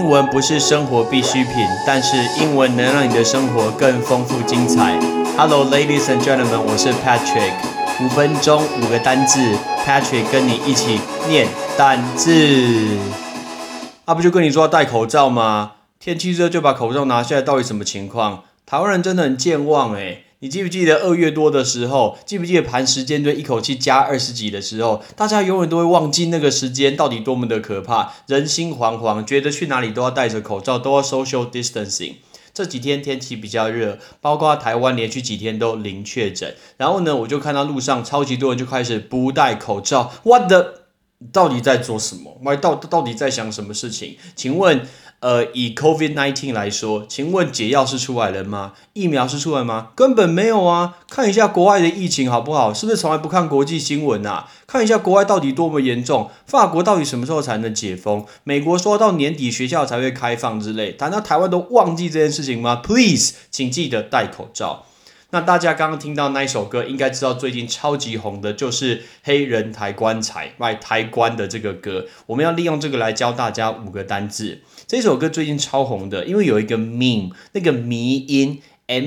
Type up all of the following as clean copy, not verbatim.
文不是生活必需品，但是英文能让你的生活更丰富精彩。Hello, ladies and gentlemen， 我是 Patrick。5分钟5个单字 ，Patrick 跟你一起念单字。不就跟你说要戴口罩吗？天气热就把口罩拿下来，到底什么情况？台湾人真的很健忘欸。你记不记得2月多的时候，记不记得盘时间对一口气加20几的时候，大家永远都会忘记那个时间到底多么的可怕，人心惶惶，觉得去哪里都要戴着口罩，都要 social distancing。这几天天气比较热，包括台湾连续几天都0确诊，然后呢，我就看到路上超级多人就开始不戴口罩。What the？ 到底在做什么？到底在想什么事情？请问，以 COVID-19 来说，请问解药是出来了吗？疫苗是出来吗？根本没有啊！看一下国外的疫情好不好？是不是从来不看国际新闻啊？看一下国外到底多么严重，法国到底什么时候才能解封？美国说到年底学校才会开放之类，难道台湾都忘记这件事情吗 ？Please， 请记得戴口罩。那大家刚刚听到那一首歌，应该知道最近超级红的就是黑人抬棺材抬棺的这个歌。我们要利用这个来教大家5个单字。这首歌最近超红的，因为有一个 meme， 那个迷音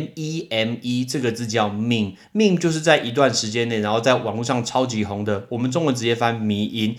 meme 这个字叫 meme 就是在一段时间内，然后在网络上超级红的，我们中文直接翻迷音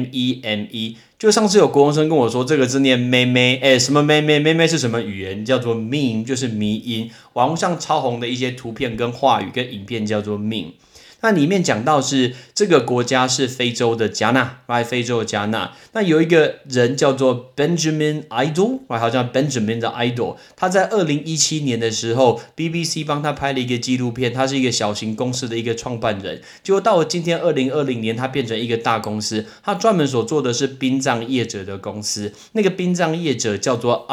meme。就上次有国中生跟我说这个字念妹妹，什么妹妹是什么语言？叫做 meme， 就是迷音，网络上超红的一些图片跟话语跟影片叫做 meme。那里面讲到是这个国家是非洲的加纳，非洲的加纳。那有一个人叫做 Benjamin Idol， 好像 Benjamin 的 Idol， 他在2017年的时候 ，BBC 帮他拍了一个纪录片，他是一个小型公司的一个创办人。结果到了今天2020年，他变成一个大公司，他专门所做的是殡葬业者的公司。那个殡葬业者叫做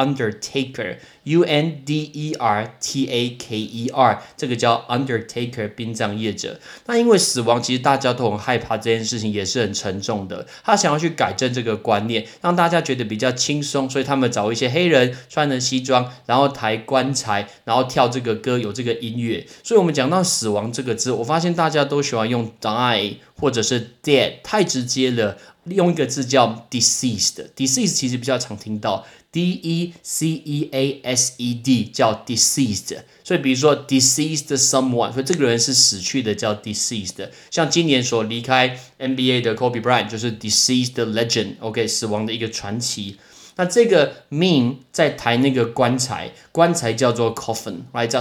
Undertaker。UNDERTAKER， 这个叫 Undertaker 殡葬业者。那因为死亡其实大家都很害怕，这件事情也是很沉重的。他想要去改正这个观念，让大家觉得比较轻松，所以他们找一些黑人穿着西装，然后抬棺材，然后跳这个歌，有这个音乐。所以我们讲到死亡这个字，我发现大家都喜欢用 die 或者是 dead， 太直接了。用一个字叫 deceased，deceased 其实比较常听到 D-E-C-E-A-S-E-D 叫 deceased， 所以比如说 deceased someone， 所以这个人是死去的叫 deceased。像今年所离开 NBA 的 Kobe Bryant 就是 deceased legend， 死亡的一个传奇。那这个 meme 在抬那个棺材叫做 coffin， 叫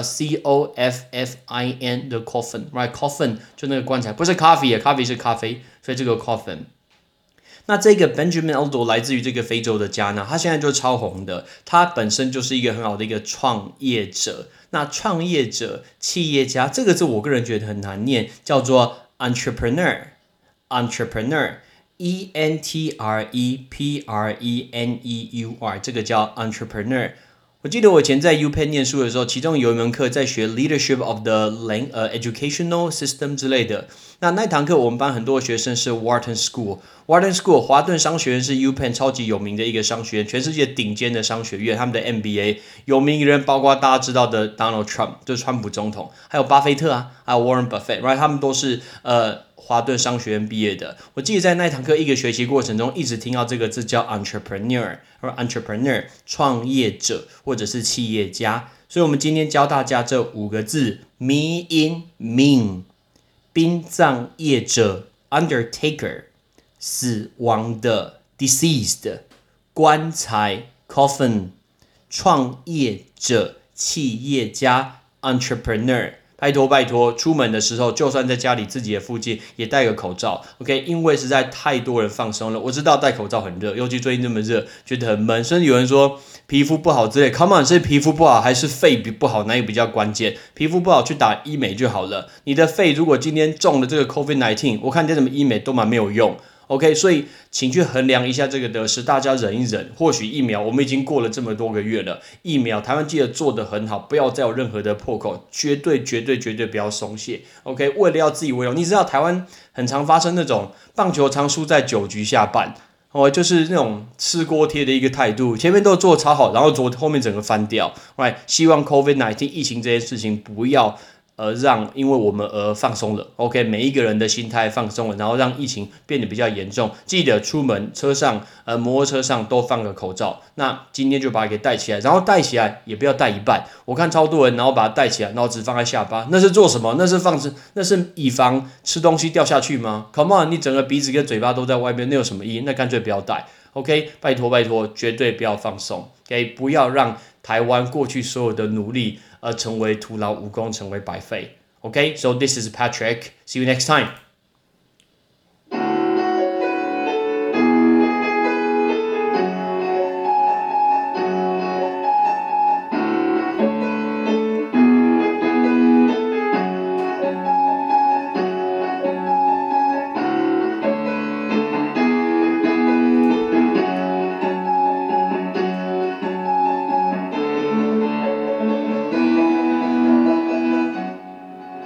C-O-F-F-I-N 的 coffin，coffin 就那个棺材，不是 coffee， coffee 是咖啡，所以这个 coffin。那这个 Benjamin Idol 来自于这个非洲的加纳，他现在就超红的，他本身就是一个很好的一个创业者。那创业者、企业家这个字我个人觉得很难念，叫做 entrepreneur，entrepreneur，E-N-T-R-E-P-R-E-N-E-U-R， 这个叫 entrepreneur。我记得我以前在 UPenn 念书的时候，其中有一门课在学 Leadership of the Educational System 之类的。那堂课我们班很多学生是 Wharton School， 华顿商学院是 UPenn 超级有名的一个商学院，全世界顶尖的商学院，他们的 MBA 有名人包括大家知道的 Donald Trump， 就是川普总统，还有巴菲特还有 Warren Buffett， 他们都是华顿商学院毕业的。我记得在那堂课一个学期过程中，一直听到这个字叫 entrepreneur， 创业者或者是企业家。所以我们今天教大家这5个字：迷因 meme， 殡葬业者 undertaker， 死亡的 deceased， 棺材 coffin， 创业者企业家 entrepreneur。拜托，出门的时候，就算在家里自己的附近也戴个口罩 ，OK？ 因为实在太多人放松了。我知道戴口罩很热，尤其最近这么热，觉得很闷。甚至有人说皮肤不好之类 ，Come on， 是皮肤不好还是肺不好？哪一个比较关键？皮肤不好去打医美就好了。你的肺如果今天中了这个 COVID-19， 我看你怎么医美都蛮没有用。OK， 所以请去衡量一下这个得失，大家忍一忍。或许疫苗我们已经过了这么多个月了，疫苗台湾记得做得很好，不要再有任何的破口，绝对不要松懈。OK， 为了要自己为荣，你知道台湾很常发生那种棒球常输在9局下半，就是那种吃锅贴的一个态度，前面都做超好，然后后面整个翻掉。希望 COVID-19 疫情这件事情不要因为我们而放松了 ，OK， 每一个人的心态放松了，然后让疫情变得比较严重。记得出门车上摩托车上都放个口罩。那今天就把它给戴起来，然后戴起来也不要戴一半。我看超多人，然后把它戴起来，然后只放在下巴，那是做什么？那是以防吃东西掉下去吗 ？Come on， 你整个鼻子跟嘴巴都在外面，那有什么意义？那干脆不要戴。OK， 拜托，绝对不要放松。OK， 不要让台湾过去所有的努力成为徒劳无功，成为白费。OK，so this is Patrick. See you next time.